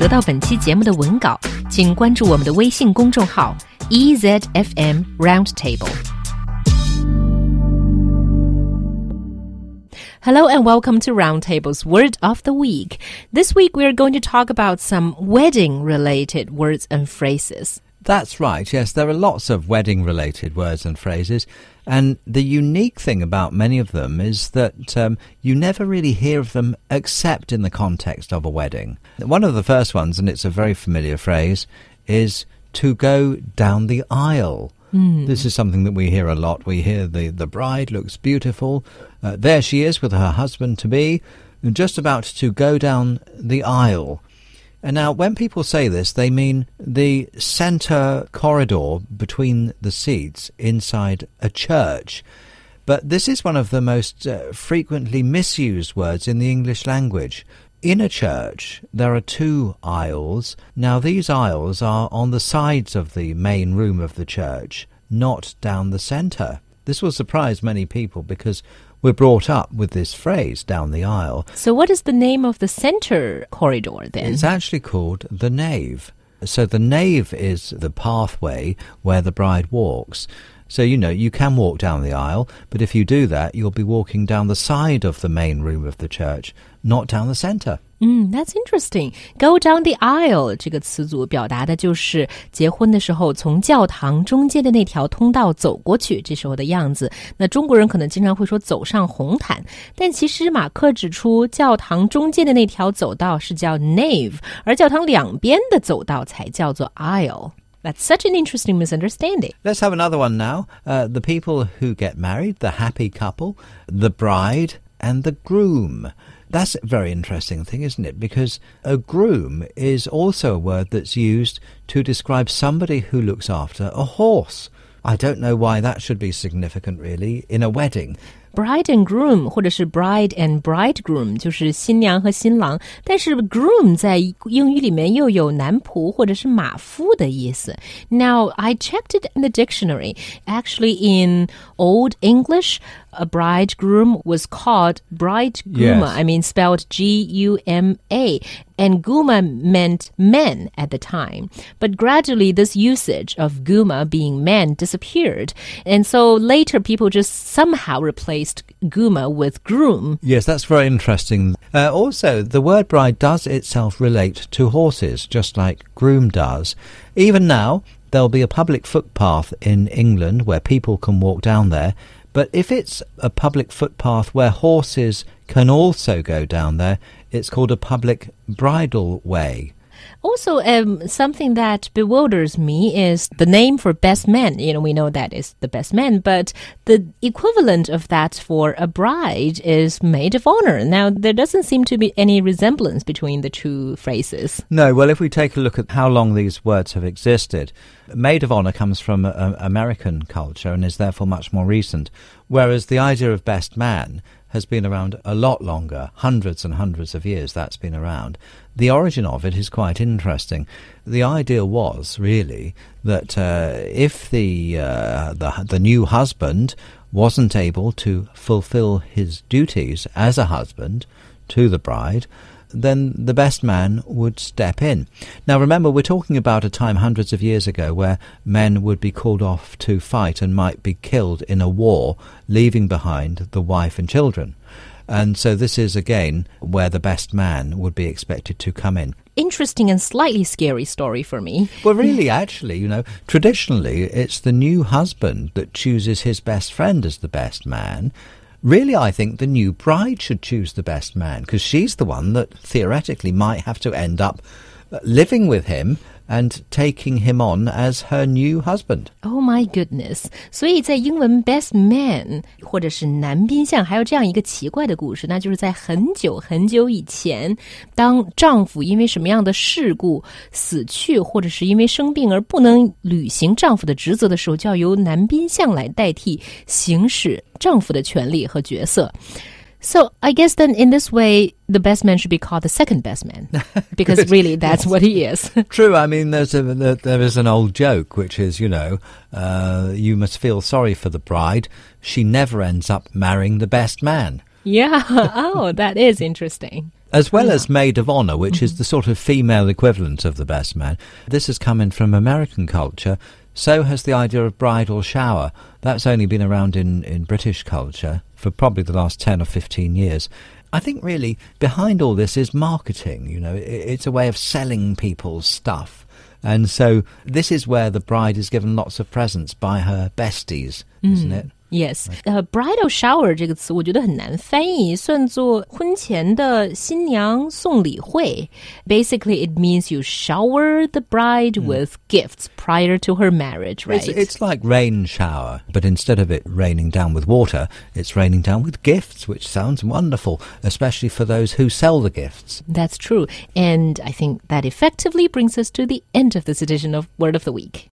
得到本期节目的文稿，请关注我们的微信公众号 EZFM Roundtable。Hello and welcome to Roundtable's Word of the Week. This week we are going to talk about some wedding-related words and phrases. That's right, yes. There are lots of wedding-related words and phrases, and the unique thing about many of them is that you never really hear of them except in the context of a wedding. One of the first ones, and it's a very familiar phrase, is to go down the aisle. This is something that we hear a lot. We hear the bride looks beautiful. There she is with her husband-to-be, just about to go down the aisle. And now, when people say this, they mean the centre corridor between the seats inside a church. But this is one of the most frequently misused words in the English language. In a church, there are two aisles. Now, these aisles are on the sides of the main room of the church, not down the centre. This will surprise many people because we're brought up with this phrase, down the aisle. So what is the name of the center corridor then? It's actually called the nave. So the nave is the pathway where the bride walks. So, you know, you can walk down the aisle, but if you do that, you'll be walking down the side of the main room of the church, not down the centre. That's interesting. Go down the aisle 这个词组表达的就是结婚的时候从教堂中间的那条通道走过去，这时候的样子。那中国人可能经常会说走上红毯，但其实马克指出教堂中间的那条走道是叫 nave， 而教堂两边的走道才叫做 aisle.That's such an interesting misunderstanding. Let's have another one now. The people who get married, the happy couple, the bride and the groom. That's a very interesting thing, isn't it? Because a groom is also a word that's used to describe somebody who looks after a horse. I don't know why that should be significant, really, in a wedding.Bride and groom 或者是 bride and bridegroom 就是新娘和新郎，但是 groom 在英语里面又有男仆或者是马夫的意思。Now, I checked it in the dictionary. Actually, in Old English, a bridegroom was called bridegrooma. Yes. I mean, spelled G-U-M-A. And guma meant men at the time. But gradually, this usage of guma being men disappeared. And so later, people just somehow replaced guma with groom. Yes, that's very interesting. Also, the word bride does itself relate to horses, just like groom does. Even now, there'll be a public footpath in England where people can walk down there. But if it's a public footpath where horses can also go down there, it's called a public bridle way. Also, something that bewilders me is the name for best man. You know, we know that is the best man, but the equivalent of that for a bride is maid of honor. Now, there doesn't seem to be any resemblance between the two phrases. No, well, if we take a look at how long these words have existed, maid of honor comes from American culture and is therefore much more recent, whereas the idea of best man has been around a lot longer, hundreds and hundreds of years that's been around. The origin of it is quite interesting. The idea was really that if the new husband wasn't able to fulfill his duties as a husband to the bride, then the best man would step in. Now remember, we're talking about a time hundreds of years ago where men would be called off to fight and might be killed in a war, leaving behind the wife and children. And so this is, again, where the best man would be expected to come in. Interesting and slightly scary story for me. Well, really, actually, you know, traditionally, it's the new husband that chooses his best friend as the best man. Really, I think the new bride should choose the best man because she's the one that theoretically might have to end up living with him and taking him on as her new husband. Oh my goodness. 所以在英文 best man 或者是男宾相还有这样一个奇怪的故事，那就是在很久很久以前，当丈夫因为什么样的事故死去或者是因为生病而不能履行丈夫的职责的时候，就要由男宾相来代替行使丈夫的权利和角色。So I guess then in this way, the best man should be called the second best man because really that's what he is. True. I mean, there is an old joke, which is, you know, you must feel sorry for the bride. She never ends up marrying the best man. Yeah. Oh, that is interesting. as well as maid of honor, which is the sort of female equivalent of the best man. This has come in from American culture. So has the idea of bridal shower. That's only been around in British culture for probably the last 10 or 15 years. I think really behind all this is marketing. You know, it's a way of selling people's stuff. And so this is where the bride is given lots of presents by her besties, isn't it? Yes, bridal shower 这个词我觉得很难翻译，算作婚前的新娘送礼会。Basically, it means you shower the bride with gifts prior to her marriage, right? It's like rain shower, but instead of it raining down with water, it's raining down with gifts, which sounds wonderful, especially for those who sell the gifts. That's true. And I think that effectively brings us to the end of this edition of Word of the Week.